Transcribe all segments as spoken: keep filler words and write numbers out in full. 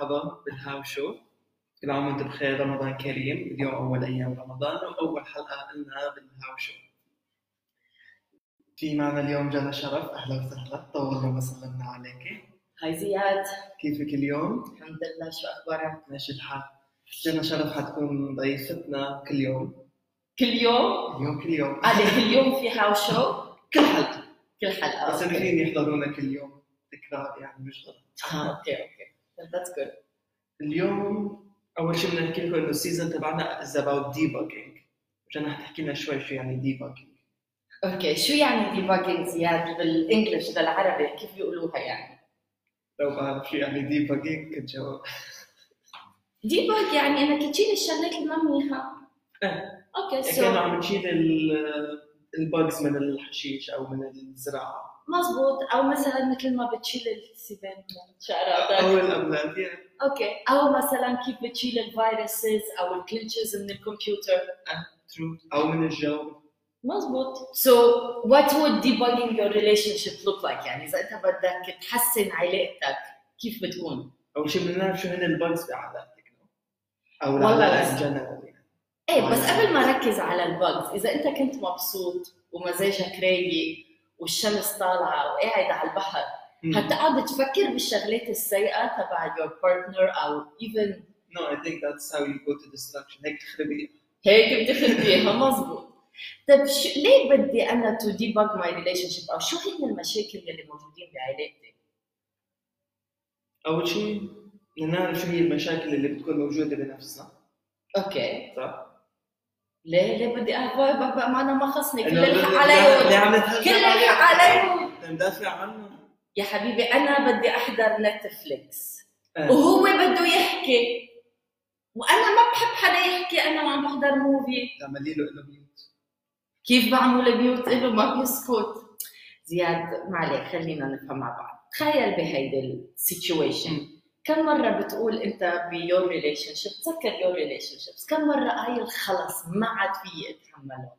مرحبا بالهاو شو. كل عام وانتم بخير، رمضان كريم. اليوم أول أيام رمضان وأول حلقة لنا بالهاو شو. في معنا اليوم جنى شرف، أهلا وسهلا، طولنا ما سلمنا عليك. هاي زياد، كيفك اليوم؟ الحمد لله، شو أخبارك؟ ماشي الحال. جنى شرف حتكون ضيفتنا كل يوم. كل يوم؟ اليوم كل يوم. هذا كل يوم في هاو شو؟ كل حلقة كل حلقة. بس الاثنين يحضرونا كل يوم، تكرار يعني مش غلط. اه اوكي اوكي that's good. اليوم أول شيء بدنا نحكي لكم إنه السيزون تبعنا is about debugging. جنى حتحكي لنا شوي شو يعني debugging. اوكي، شو يعني debugging زياد بالانجلش بالعربي؟ كيف بيقولوها يعني؟ لو بعرف شو يعني debugging كنت جاوب. debug يعني انك تشيل الشغلات اللي ما منيحة. ايه اوكي يعني سو كانوا عم نشيل الباجز من الحشيش او من الزراعه. مزبوط، او مثلا مثل ما بتشيل السبان من شعراتك او الابنات يعني. اوكي، او مثلا كيف بتشيل الفيروسز او الكليتشز من الكمبيوتر. ترو. او من الجو. مزبوط. So what would debugging your relationship look like؟ يعني إذا أنت بدك تحسن علاقتك كيف بتكون؟ أول شيء بدنا نعرف شو هن الباجز بعلاقتك أو والله العلاقة بس- جنرال يعني. إيه بس قبل ما ركز على الباجز، إذا أنت كنت مبسوط ومزاجك رايق والشمس طالعة وقاعد على البحر، مم. هتقعد تفكر بالشغلات السيئة تبع your partner أو even No, I think that's how you go to destruction. هيك تخربي. هيك بتخربيها. مزبوط. طيب شو ليه بدي أنا to debug my relationship أو شو هي المشاكل اللي موجودين بعلاقتي؟ أول شيء بدنا نعرف شو هي المشاكل اللي بتكون موجودة بنفسنا. أوكي. صح؟ ليه ليه بدي أهوى بابا؟ ما أنا ما خصني كل إنه الحق ليه عليهم، عم نتهجم كل الحق عليهم ندافع عنه. يا حبيبي. أنا بدي أحضر نتفليكس آه. وهو بده يحكي وأنا ما بحب حدا يحكي، أنا وعم بحضر موفي. تعملي له إنه ميوت. كيف بعمل بيوت إله ما بيسكت؟ زياد ما عليك، خلينا نفهم مع بعض. تخيل بهيدي السيتويشن، كم مرة بتقول أنت بيور ريليشن شيب، تذكر يور ريليشن شيبس، كم مرة قايل خلص ما عاد فيي أتحمله؟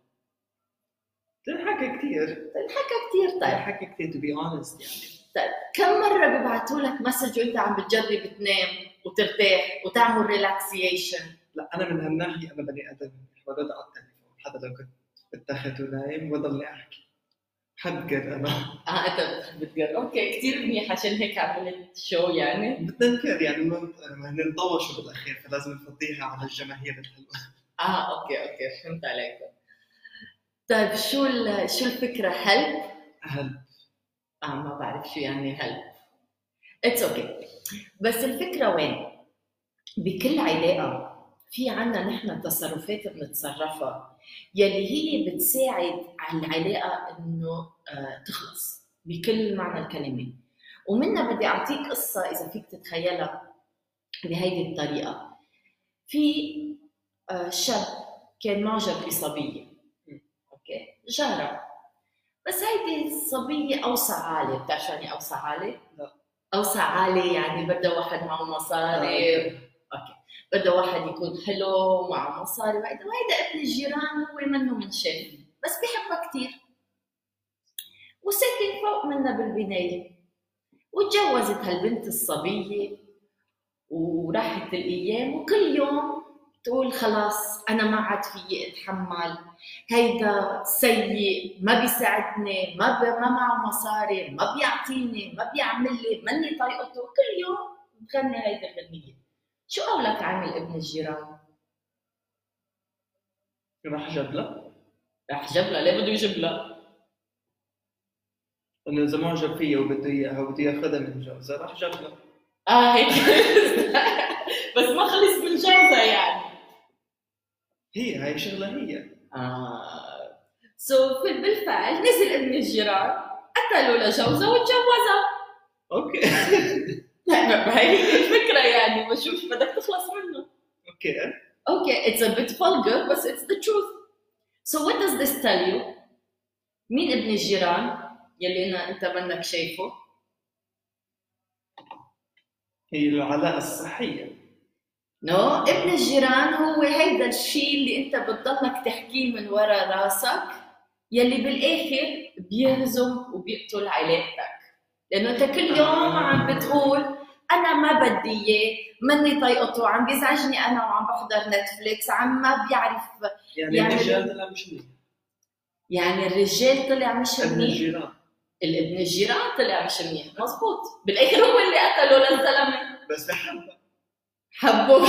تنحكى كثير. تنحكى كثير. طيب تنحكى كثير to be honest يعني. طيب كم مرة ببعثوا لك مسج وأنت عم بتجرب تنام وترتاح وتعمل ريلاكسيشن؟ لا أنا من هالناحية أنا بني آدم برد على التليفون حتى لو كنت بتاخد ونايم وضلني أحكي. حبقر أنا. اه انت بتحب تقرا. اوكي كثير منيح، عشان هيك عملت شو يعني. بتذكر يعني ما نطوشوا بالأخير فلازم نفضيها على الجماهير الحلوة. اه اوكي اوكي فهمت عليك. طيب شو ال- شو الفكرة؟ هل هل اه ما بعرف شو يعني هل. اتس اوكي okay. بس الفكرة وين؟ بكل علاقة في عنا نحن تصرفات بنتصرفها يلي هي بتساعد على العلاقة انه آه تخلص بكل معنى الكلمة. ومنها بدي اعطيك قصة اذا فيك تتخيلها بهيدي الطريقة. في آه شاب كان معجب بصبية، اوكي جارة، بس هيدي الصبية اوسع عالي. بتعرف يعني اوسع عالي؟ لا. اوسع عالي يعني بدها واحد معه مصاري. آه. اوكي بدها واحد يكون حلو معه مصاري وهيدا وهيدا ابن الجيران، هو منه من شيء بس بيحبها كثير وساكن فوق منا بالبناية. وتجوزت هالبنت الصبية وراحت الايام وكل يوم تقول خلاص انا ما عاد فيي اتحمل، هيدا سيء، ما بيساعدني، ما ب... ما معه مصاري، ما بيعطيني، ما بيعمل لي، ماني طايقته. كل يوم بتغني هيدي الغنية. شو قولك عامل ابن الجيران؟ راح جاب له. راح جاب لها. ليه بده يجيب لها؟ إنه إذا معجب فيها وبده إياها وبده ياخذها من جوزها راح جاب له. اه هيك بس ما خلص من جوزها يعني. هي هاي شغلة هي. اه سو so, بالفعل نزل ابن الجيران قتلوا لجوزها وتجوزها. أوكي. هي الفكرة يعني، بشوف بدك تخلص منه. أوكي. Okay, it's a bit vulgar but it's the truth. So what does this tell you? مين ابن الجيران يلي أنا أنت منك شايفه؟ هي العلاقة الصحية. no ابن الجيران هو هيدا الشيء اللي أنت بتضلك تحكيه من ورا راسك يلي بالآخر بيهزم وبيقتل علاقتك، لأنه أنت كل يوم عم بتقول انا ما بدي اياه، ماني طايقته، عم بيزعجني انا وعم بحضر نتفليكس، عم ما بيعرف يعني يعمل الرجال طلع مش منيح، يعني الرجال طلع مش ابن منيح، الجيران الابن الجيران طلع مش منيح، مزبوط، بالاخر هو اللي قتله للزلمه، بس بحبها. حبه.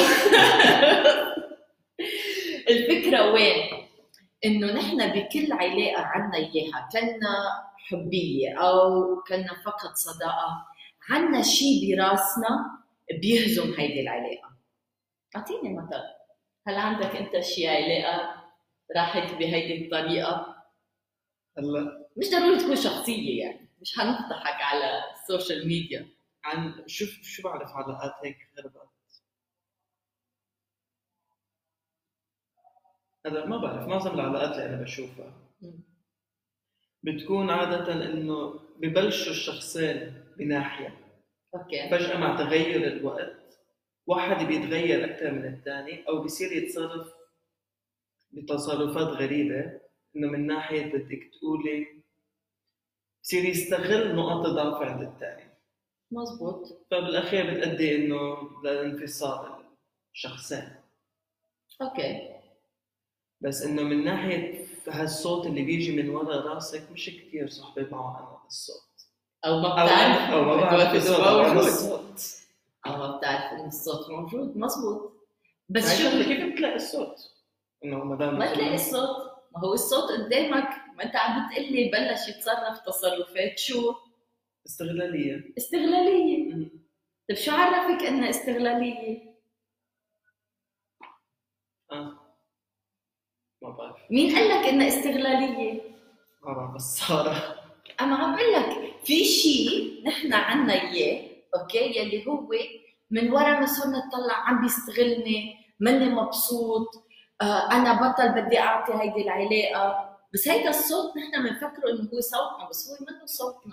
الفكره وين؟ انه نحن بكل علاقه عنا اياها، كنا حبيه او كنا فقط صداقه، عنا شيء براسنا بيهزم هيدي العلاقه. اعطيني مثل، هل عندك انت شيء علاقه راحت بهيدي الطريقه؟ هلا مش ضروري تكون شخصيه، يعني مش حنفضحك على السوشيال ميديا. عن شوف شو بعرف علاقات هيك خربت، هذا ما بعرف. معظم العلاقات اللي انا بشوفها بتكون عادة انه ببلشوا الشخصين بناحية، اوكي فجأة مع تغير الوقت واحد بيتغير أكثر من الثاني أو بيصير يتصرف بتصرفات غريبة، إنه من ناحية بدك تقولي بصير يستغل نقاط ضعف عند الثاني، مزبوط. فبالأخير بتأدي إنه لانفصال الشخصين. اوكي بس إنه من ناحية هالصوت اللي بيجي من ورا راسك مش كتير صحبة معه أنا الصوت، او ما أو بتعرف أو ما بعرف إنه إذا أنا موجود، الصوت، او ما بتعرف ان الصوت موجود. مزبوط. بس هاي شو شغلة كيف بتلاقي الصوت؟ إنه ما دام ما تلاقي الصوت؟ ما هو الصوت قدامك، ما انت عم بتقلي بلش يتصرف تصرفات شو؟ استغلالية. استغلالية. مم. طيب شو عرفك انها استغلالية؟ آه ما بعرف. مين قال لك انها استغلالية؟ ما بعرف بس صار انا عم بقول لك في شيء نحن عنا اياه، اوكي، يلي هو من ورا ما صرنا نطلع عم بيستغلني، ماني مبسوط، آه انا بطل بدي اعطي هيدي العلاقه، بس هيدا الصوت نحن بنفكره انه هو صوتنا، بس هو منه صوتنا.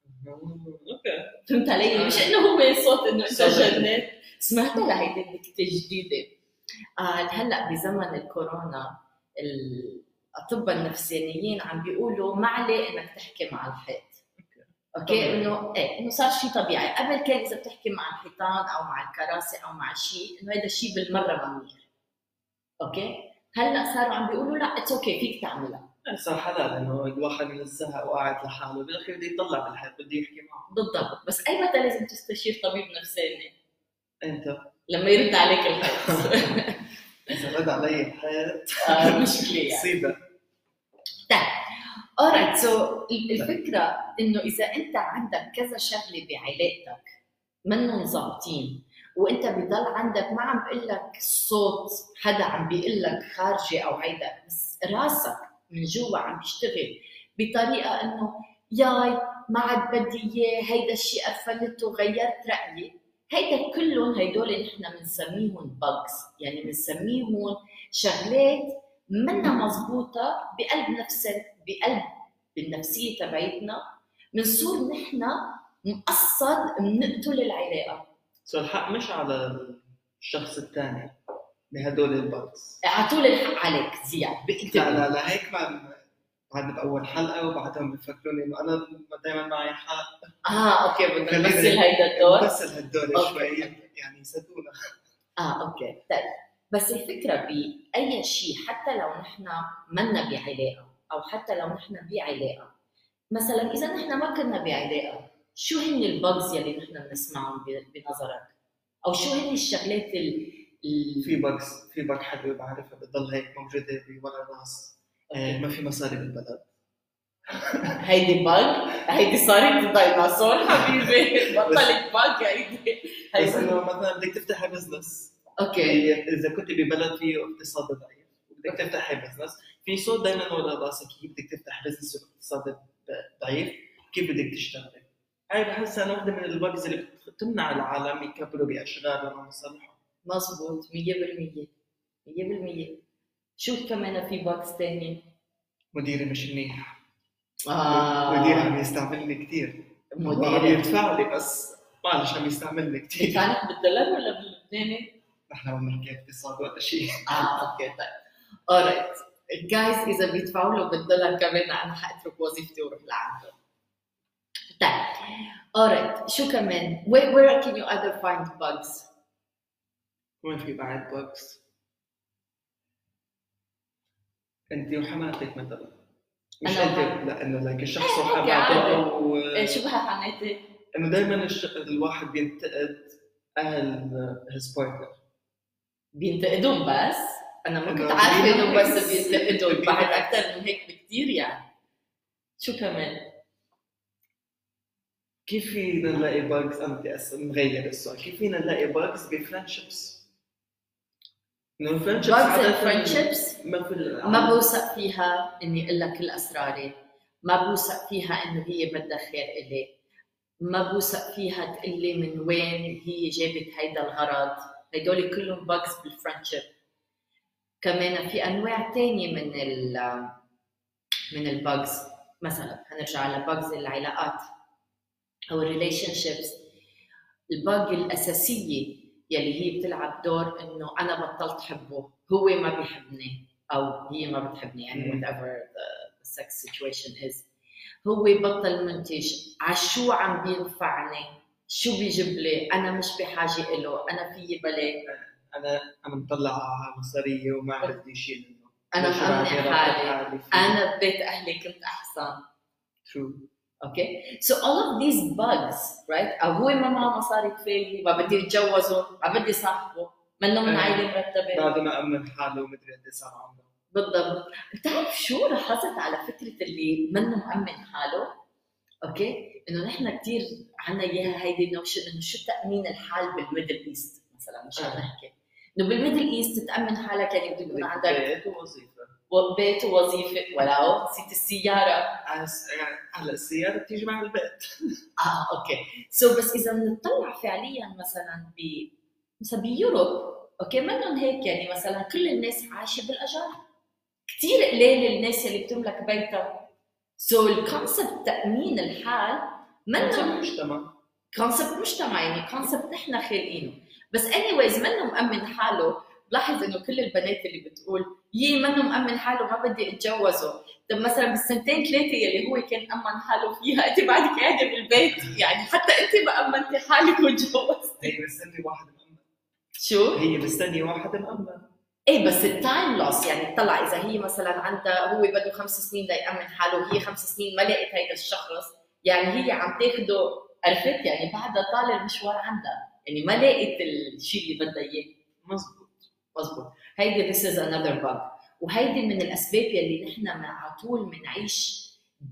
اوكي فهمت علي؟ مش انه هو صوت انه انت صوت. جنات. سمعت لهيدي النكته جديده. آه هلا بزمن الكورونا الاطباء النفسانيين عم بيقولوا ما عليه انك تحكي مع الحيط. اوكي، انه ايه انه صار شيء طبيعي. قبل كان اذا بتحكي مع الحيطان او مع الكراسي او مع شيء انه هذا الشيء بالمره ممنوع. اوكي، هلا صاروا عم بيقولوا لا اتس اوكي فيك تعملها. صار حلال انه الواحد من الزهق وقاعد لحاله بالاخير بده يطلع بالحيط بده يحكي معه. بالضبط، بس اي متى لازم تستشير طبيب نفساني؟ انت لما يرد عليك الحيط. اذا رد علي الحيط آه مشكله يعني. مصيبه. طيب alright سو الفكره انه اذا انت عندك كذا شغله بعلاقتك منهم ظابطين وانت بضل عندك، ما عم بقول لك صوت حدا عم بيقول لك خارجي او هيدا، بس راسك من جوا عم بيشتغل بطريقه انه ياي ما عاد بدي اياه، هيدا الشيء قفلته، غيرت رايي، هيدا كلهم هيدول نحن بنسميهم باجز، يعني بنسميهم شغلات منا مزبوطه بقلب نفسنا، بقلب بالنفسيه تبعتنا، بنصير نحن مقصد بنقتل العلاقه. سو الحق مش على الشخص الثاني بهدول البوكس، اعطوا لي الحق عليك زياد. لا لا لا هيك ما بعد باول حلقه وبعدهم بفكروني انه انا دائما معي حق. اه اوكي، بدنا خلينا نمثل هيدا الدور. نمثل هالدور أوكي. شوي يعني صدقونا. اه اوكي طيب، بس الفكره باي شيء حتى لو نحن منا بعلاقه او حتى لو نحن بعلاقه، مثلا اذا نحن ما كنا بعلاقه، شو هن البجز يلي نحن بنسمعهم بنظرك؟ او شو هن الشغلات ال ال- في بوكس في بق حلوه بعرفها بتضل هيك موجوده بورا الراس. آه، ما في مصاري بالبلد. هيدي بج، هيدي صارت ديناصور حبيبي، بطلت بج هيدي. بس هيدي انه مثلا بدك تفتحي بزنس، اوكي اذا كنت ببلد فيه اقتصاد ضعيف وبدك تفتحي بزنس، في صوت دائما ورا راسك كيف بدك تفتح بزنس واقتصاد ضعيف، كيف بدك تشتغلي. هاي بحسها انا وحده من البجز اللي بتمنع العالم يكبروا باشغالهم ومصالحهم. مزبوط مية بالمية مية بالمية. شو كمان في باكس تاني؟ مديري مش منيح. آه مديري عم يستعملني كثير. هو عم مدير يدفع لي بس معلش عم يستعملني كثير. كانت بالدولار ولا باللبناني؟ نحن عم نحكي اقتصاد ولا شيء. اه اوكي طيب alright جايز، اذا بيدفعوا له بالدولار كمان انا حاترك وظيفتي واروح لعنده. طيب alright شو كمان where, where can you other find bugs؟ وين في بعد بوكس؟ انت وحماتك مثلا، مش أنا انت وحماتي. لانه لك الشخص إيه، وحماته عادي. او إيه، شو بها حماتي؟ انه دائما الش... الواحد بينتقد اهل هيز بارتنر. بينتقدون بس انا ما كنت إنه عارفه انه بالعكس. بس بينتقدون، بعد بالعكس. اكثر من هيك بكثير يعني. شو كمان؟ كيف فينا نلاقي باجز؟ انا بدي أس- نغير السؤال، كيف فينا نلاقي باجز بفرنشيبس؟ انه الفرنشيبس bugs عادة and friendships ما في ال- ما بوثق فيها اني اقول لك كل اسراري، ما بوثق فيها انه هي بدها خير الي، ما بوثق فيها تقول لي من وين هي جابت هيدا الغرض. هدول كلهم bugs بالفرنشيب. كمان في انواع تانية من ال من الباجز، مثلا هنرجع على باجز العلاقات او الريليشن شيبس. الباج الاساسيه يلي هي بتلعب دور انه انا بطلت حبه، هو ما بيحبني او هي ما بتحبني، يعني مم. whatever the sex situation is. هو بطل منتج، عشو عم بينفعني، شو بيجيب لي، انا مش بحاجه له، انا فيي بلاي، انا انا مطلع على مصاريه وما بدي شيء منه، انا ليش مأمنة بعدني راضي حالي، حالي فيه؟ انا ببيت اهلي كنت احسن. True. Okay, so all of these bugs, right? أو هو ما معه مصاري كفاية، ما بدي أتجوزه، ما بدي صاحبه، منه من عائلة مرتبة. بعد ما أمن حاله ومدري قد إيه صار عمره. بالضبط. بتعرف شو لاحظت على فكرة اللي منه مأمن حاله؟ أوكي؟ إنه نحن كثير عنا إياها هيدي النوشن إنه شو تأمين الحال بالميدل إيست مثلاً، مش عم نحكي. إنه بالميدل إيست تأمن حالك يعني بده يكون عندك بيت ووظيفة. بيت ووظيفة، ولو نسيت السيارة. هلا السيارة بتيجي مع البيت. اه اوكي سو so, بس اذا بنطلع فعليا مثلا ب مثلا بيوروب، اوكي منهم هيك، يعني مثلا كل الناس عايشه بالاجار، كثير قليل الناس اللي بتملك بيتها. سو so, الكونسبت تامين الحال منهم مجتمع، كونسبت مجتمع، يعني كونسبت نحن خالقينه. بس اني وايز منه مأمن حاله. بلاحظ انه كل البنات اللي بتقول يي منه مأمن حاله ما بدي اتجوزه، طب مثلا بالسنتين ثلاثه يلي هو كان امن حاله فيها انت بعدك قاعده بالبيت، يعني حتى انت ما امنتي حالك وتجوزتي. هي مستني واحد مأمن. شو؟ هي مستني واحد مأمن. ايه بس التايم لوس، يعني طلع اذا هي مثلا عندها هو بده خمس سنين ليأمن حاله وهي خمس سنين ما لقيت هيدا الشخص، يعني هي عم تاخده، عرفت يعني بعدها طال المشوار عندها، يعني ما لقيت الشيء اللي بدها اياه. مزبوط مزبوط. هيدي this is another bug، وهيدي من الاسباب يلي نحن على طول بنعيش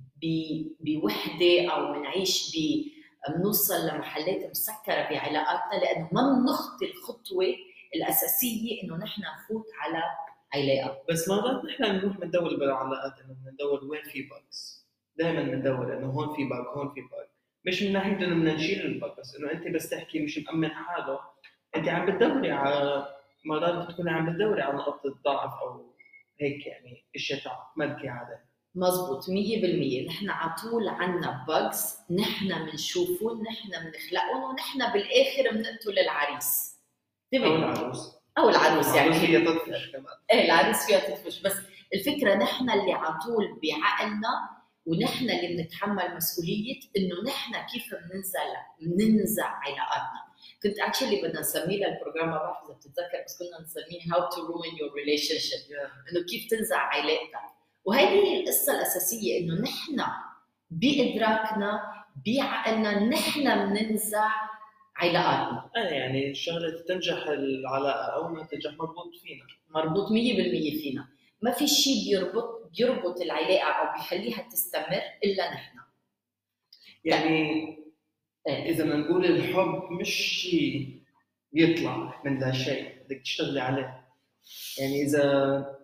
بوحده او بنعيش ب بنوصل لمحلات مسكره بعلاقاتنا، لانه ما بنخطي الخطوه الاساسيه انه نحن نفوت على علاقه. بس مرات نحن بنروح بندور بالعلاقات انه بندور وين في باجز، دائما بندور انه هون في باج هون في باج، مش من ناحيه انه بدنا نشيل الباج، بس انه انت بس تحكي مش مأمن حاله، انت عم بتدوري على مرات بتكوني عم بتدوري على نقطه ضعف او هيك، يعني اشياء تعمدكي عليه. مزبوط مية بالمية. نحن على طول عنا باجز نحن بنشوفهم، نحن بنخلقهم، ونحن بالاخر بنقتل العريس. او العروس او العروس يعني العروس هي تطفش كمان. ايه العروس فيها تطفش، بس الفكره نحن اللي على طول بعقلنا، ونحن اللي بنتحمل مسؤوليه انه نحن كيف بننزل بننزع علاقاتنا. كنت اكشلي بدنا نسميه للبروجرام، ما بعرف اذا بتتذكر، بس كنا نسميه هاو تو روين يور ريليشن شيب، انه كيف تنزع علاقتك. وهذه هي القصه الاساسيه، انه نحن بادراكنا بعقلنا نحن بننزع علاقاتنا. اه يعني الشغله تنجح العلاقه او ما تنجح مربوط فينا، مربوط مية بالمية فينا. ما في شيء بيربط بيربط العلاقه او بيخليها تستمر الا نحن. يعني اذا بدنا نقول الحب مش شيء بيطلع من لا شيء، بدك تشتغلي عليه. يعني اذا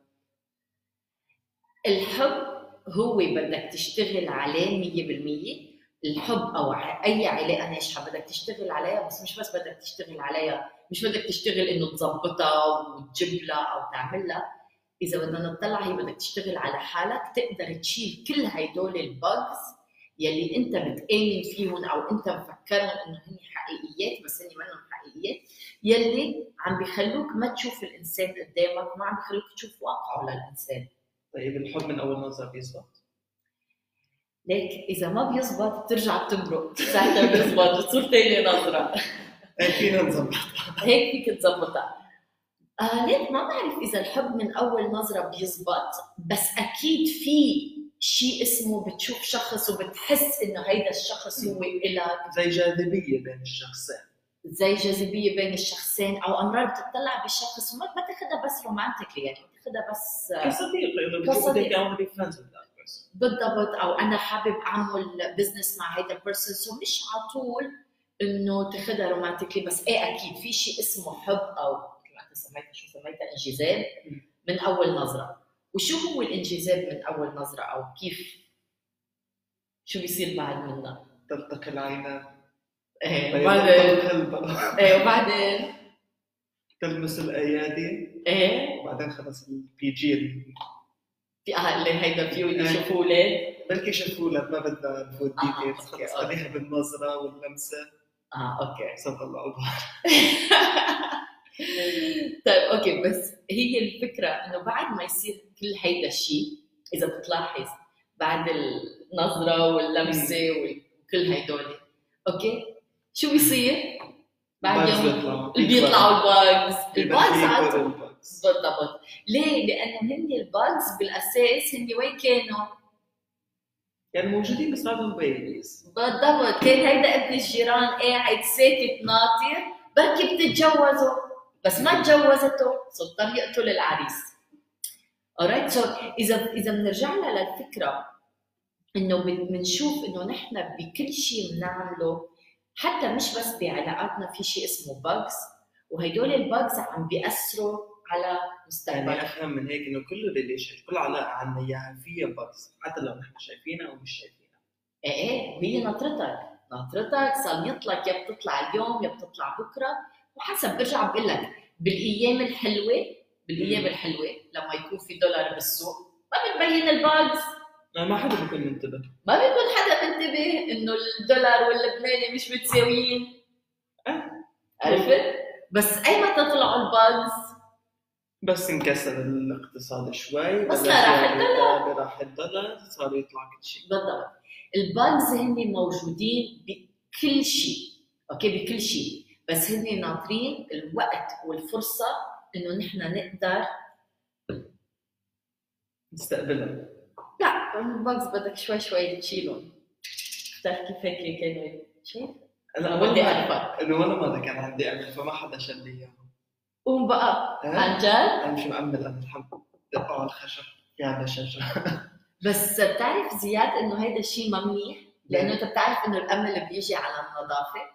الحب هو بدك تشتغل عليه مية بالمية. الحب او اي علاقه ناجحه بدك تشتغل عليها، بس مش بس بدك تشتغل عليها، مش بدك تشتغل انه تظبطها وتجيب لها او تعمل لها. اذا بدنا نطلع هي بدك تشتغل على حالك، تقدر تشيل كل هيدول الباجز يلي انت بتآمن فيهم او انت مفكرهم انه هن حقيقيات بس هن منهم حقيقيات، يلي عم بيخلوك ما تشوف الانسان قدامك وما عم بيخلوك تشوف واقعه للانسان. طيب الحب من اول نظره بيزبط؟ ليك اذا ما بيزبط بترجع بتمرق، ساعتها بيزبط بتصير ثاني نظره. هيك فينا نظبطها. هيك فيك تظبطها. آه ليك ما بعرف اذا الحب من اول نظره بيزبط، بس اكيد في شيء اسمه بتشوف شخص وبتحس انه هيدا الشخص هو إلك، زي جاذبيه بين الشخصين، زي جاذبيه بين الشخصين، او امرار بتطلع بالشخص وما ما تاخذها بس رومانتيكلي، يعني بتاخذها بس كصديق انه كصديق. بتشوف بدك اعمل فريندز وذ ذات بيرسون. بالضبط، او انا حابب اعمل بزنس مع هيدا البيرسون، سو مش على طول انه تاخذها رومانتيكلي. بس ايه اكيد في شيء اسمه حب، او مثل ما انت سميتها شو سميتها انجذاب من اول نظره. وشو هو الانجذاب من اول نظره، او كيف شو بيصير بعد منها؟ تلتقي العينان، ايه بيض وبعدين القلب، ايه وبعدين تلمس الايادي، ايه وبعدين خلص البي جي. في اهل هيدا فيو إيه. يشوفوا اولاد. بلكي شافوا لك، ما بدنا نفوت آه، ديتيلز، أوكي، خلص أوكي. خليها بالنظره واللمسه. اه اوكي. صوت الله الله. طيب اوكي، بس هي الفكره انه بعد ما يصير كل هيدا الشيء، اذا بتلاحظ بعد النظره واللمسه وكل هيدول، اوكي شو بيصير؟ بعد الباجز يوم بيطلعوا بيطلعوا الباجز. الباجز الباجز عادة الباجز بالضبط. ليه؟ لانه هن الباجز بالاساس هن وين كانوا؟ يعني موجودين بس بعدهم بيبيز. بالضبط، كان هيدا ابن الجيران قاعد ساكت ناطر، بركي بتتجوزوا، بس ما تجوزته، صار اضطر يقتل العريس. alright، so اذا اذا بنرجع لها للفكره انه بنشوف انه نحن بكل شيء بنعمله، حتى مش بس بعلاقاتنا، في شيء اسمه باجز، وهدول الباجز عم بيأثروا على مستقبلنا. يعني افهم من هيك انه كل ريليشن، كل علاقه عنا اياها فيها باجز، حتى لو نحن شايفينها او مش شايفينها. ايه ايه، وهي ناطرتك ناطرتك صار لك، يا بتطلع اليوم يا بتطلع بكره، وحسب. برجع بقول لك بالايام الحلوه، بالايام الحلوه لما يكون في دولار بالسوق ما بتبين الباجز، ما حدا بيكون منتبه، ما بيكون حدا منتبه انه الدولار واللبناني مش متساويين. أه. عرفت؟ بس اي متى طلعوا الباجز؟ بس انكسر الاقتصاد شوي، بس بلش لا، راح يعني الدولار. يتابع، راح الدولار، صار يطلع كل شيء. بالضبط. الباجز هن موجودين بكل شيء، اوكي بكل شيء، بس هن ناطرين الوقت والفرصه انه نحن نقدر نستقبلها. لا، الباجز بدك شوي شوي تشيلهم. بتعرف كيف هيك كانوا شايف؟ انا بدي بدي اعرفك انه ولا مره كان عندي امل، فما حدا شل لي اياه. قوم بقى أه؟ عن جد. انا مش مأمل، انا الحمد لله على الخشب يا بشجع. بس بتعرف زياد انه هيدا الشيء ما منيح، لانه انت بتعرف انه الامل بيجي على النظافه.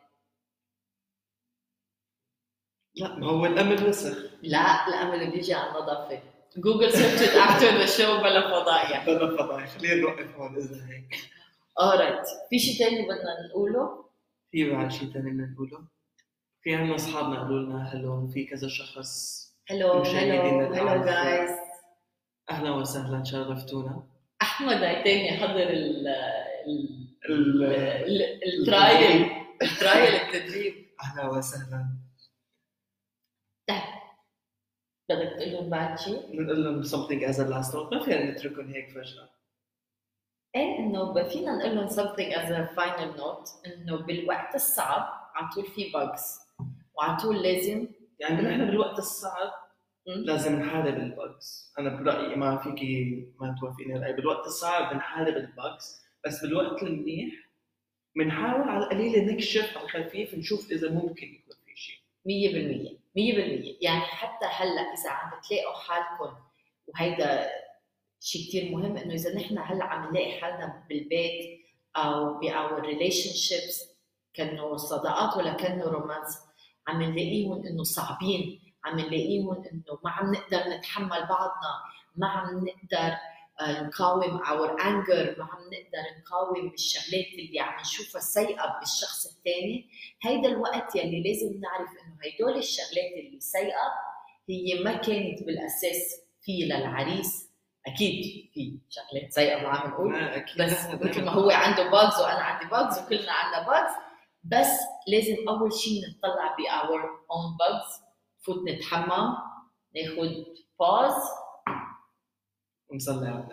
لا، ما هو الامل وسخ. لا، الامل بيجي على النظافه. جوجل سيرش افتر ذا شو بلا فضايح. بلا فضايح، خلينا نوقف هون اذا هيك. اورايت، في شيء ثاني بدنا نقوله؟ في بعد شيء ثاني بدنا نقوله؟ في عنا اصحابنا قالوا لنا هلو، في كذا شخص. هلو مشاهدينا هلو هلو الأعزاء. جايز. اهلا وسهلا، شرفتونا. احمد هيتاني حضر ال ال ال- ال- الترايل الترايل التدريب. اهلا وسهلا. طيب بدك تقول لهم بعد شيء؟ نقول لهم something as a last note، ما فينا نتركهم هيك فجأة. ايه، انه فينا نقول لهم something as a final note، انه بالوقت الصعب على طول في bugs، وعلى طول لازم يعني نحن بالوقت الصعب م? لازم نحارب الباجز. انا برايي، ما فيكي ما توافقيني الراي، بالوقت الصعب بنحارب الباجز، بس بالوقت المنيح بنحاول على القليل نكشف على الخفيف، نشوف اذا ممكن يكون في شيء. مية بالمية مية بالمية. يعني حتى هلا اذا عم تلاقوا حالكم، وهيدا شيء كتير مهم، انه اذا نحن هلا عم نلاقي حالنا بالبيت او باور ريليشن شيبس، كانوا صداقات ولا كانوا رومانس، عم نلاقيهم انه صعبين، عم نلاقيهم انه ما عم نقدر نتحمل بعضنا، ما عم نقدر نقاوم اور انجر، ما عم نقدر نقاوم الشغلات اللي عم نشوفها سيئه بالشخص الثاني. هيدا الوقت يلي لازم نعرف انه هيدول الشغلات اللي سيئه هي ما كانت بالاساس في للعريس. اكيد في شغلات سيئه ما عم نقول، بس مثل ما هو عنده باجز وانا عندي باجز وكلنا عندنا باجز، بس لازم اول شيء نطلع ب our own bugs، نفوت نتحمم، ناخذ باوز ونصلي على النبي.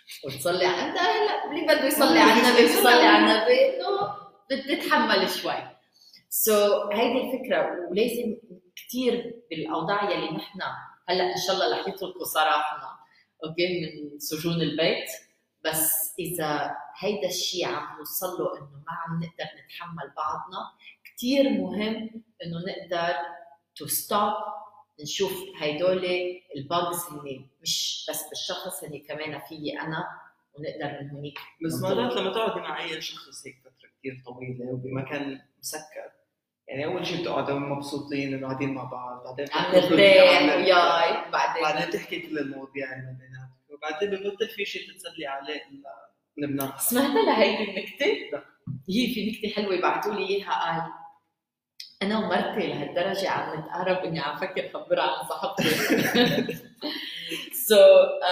وتصلي على انت هلا اللي بده يصلي على النبي يصلي على النبي انه بتتحمل شوي. سو so, هيدي الفكره. ولازم كثير بالاوضاع يلي نحن هلا ان شاء الله رح يطلقوا سراحنا اوكي من سجون البيت، بس اذا هيدا الشيء عم نوصل له انه ما عم نقدر نتحمل بعضنا، كثير مهم انه نقدر تو ستوب، نشوف هيدول الباجز هن مش بس بالشخص، هن كمان فيي انا، ونقدر من هونيك. بس مرات لما تقعدي مع اي شخص هيك فتره كثير طويله وبمكان مسكر، يعني اول شيء بتقعدوا مبسوطين انه قاعدين مع بعض، بعدين عم نرتاح وياي، بعدين بعدين تحكي كل المواضيع اللي بيناتكم، وبعدين ببطل في شيء تتسلي عليه الا لبنان. سمعت لهيدي النكته؟ لا هي في نكته حلوه بعثوا لي اياها، قال انا ومرتي لهالدرجه عم نتقارب اني عم فكر خبرها عن صاحبتي. سو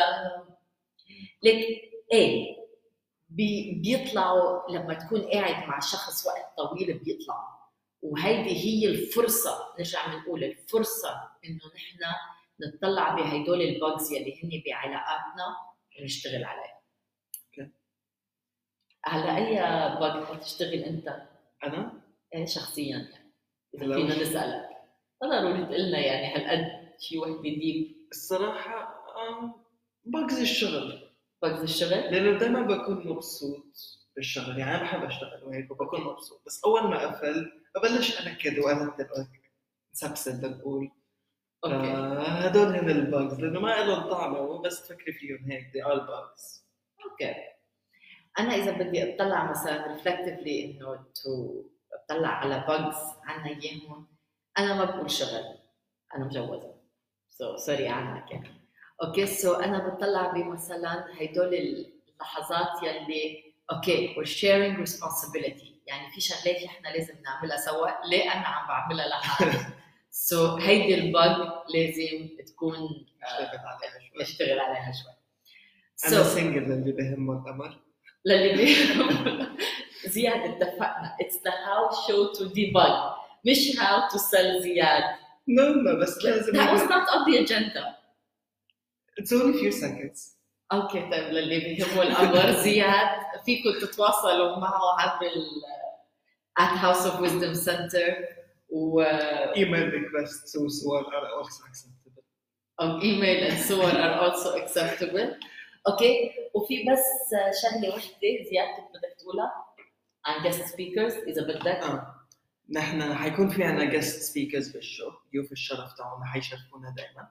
ليك ايه بي بيطلعوا لما تكون قاعد مع شخص وقت طويل بيطلعوا، وهيدي هي الفرصه، نرجع بنقول الفرصه انه نحن نطلع بهدول الباجز يلي هن بعلاقاتنا ونشتغل عليها. اوكي على اي باج بتشتغل انت؟ انا ايه شخصيا يعني اذا فينا نسالك، ضروري تقول لنا يعني هالقد شيء وحده ديب. الصراحه باجز الشغل، باجز الشغل لانه دائما بكون مبسوط بالشغل، يعني انا بحب اشتغل وهيك وبكون مبسوط، بس اول ما اقفل ببلش انكد وارتب نسبسد نقول اوكي هدول هن الباجز، لانه ما لهم طعم بس تفكري فيهم هيك دي ار باجز. اوكي انا اذا بدي اطلع مثلا ريفلكتيفلي انه تو اطلع على باجز عنا اياهم، انا ما بقول شغل، انا مجوزه سو سوري عنك يعني. اوكي سو انا بطلع بمثلا هدول اللحظات يلي اوكي we're sharing responsibility، يعني في شغلات احنا لازم نعملها سوا، ليه انا عم بعملها لحالي. سو so, هيدي الباج لازم تكون اشتغل عليها شوي اشتغل عليها شوي. انا so, سنجل للي بهمه الامر، للي بهمه زياد اتفقنا it's the how show to debug مش how to sell زياد. no no بس لازم that was not on the agenda. it's only few seconds. اوكي طيب للي بيهمه الامر زياد فيكم تتواصلوا معه عبر ال at House of Wisdom Center و email requests وصور are also acceptable. او email and صور are also acceptable. اوكي وفي بس شغله وحده زيادة بدك تقولها عن guest speakers اذا بدك. آه. نحن حيكون في عنا guest speakers بالشو، ضيوف الشرف تاعنا حيشرفونا دائما،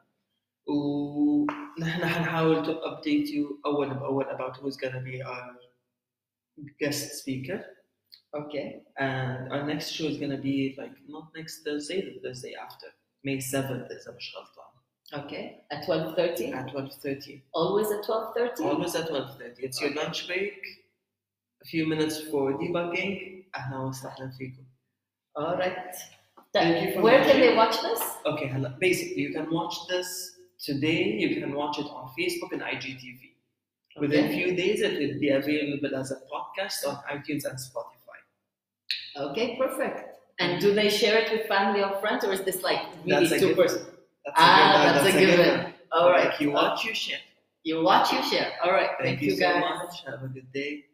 ونحن حنحاول to update you أول بأول about who's gonna be our guest speaker. Okay. And our next show is gonna be like not next Thursday, the Thursday after, May seventh إذا مش غلطان. Okay. At twelve thirty? At twelve thirty. Always at twelve thirty? Always at twelve thirty. It's your lunch break, a few minutes for debugging. أهلا وسهلا فيكم. All right. Thank you for Where watching. can they watch this? Okay, basically you can watch this today. You can watch it on Facebook and I G T V. Okay. Within a few days, it will be available as a podcast on iTunes and Spotify. Okay, perfect. And do they share it with family or friends, or is this like really that's super? That's ah, a good, that's, that's a given. given. All right. Like you watch, you share. You watch, you share. All right. Thank, Thank you, you guys. so much. Have a good day.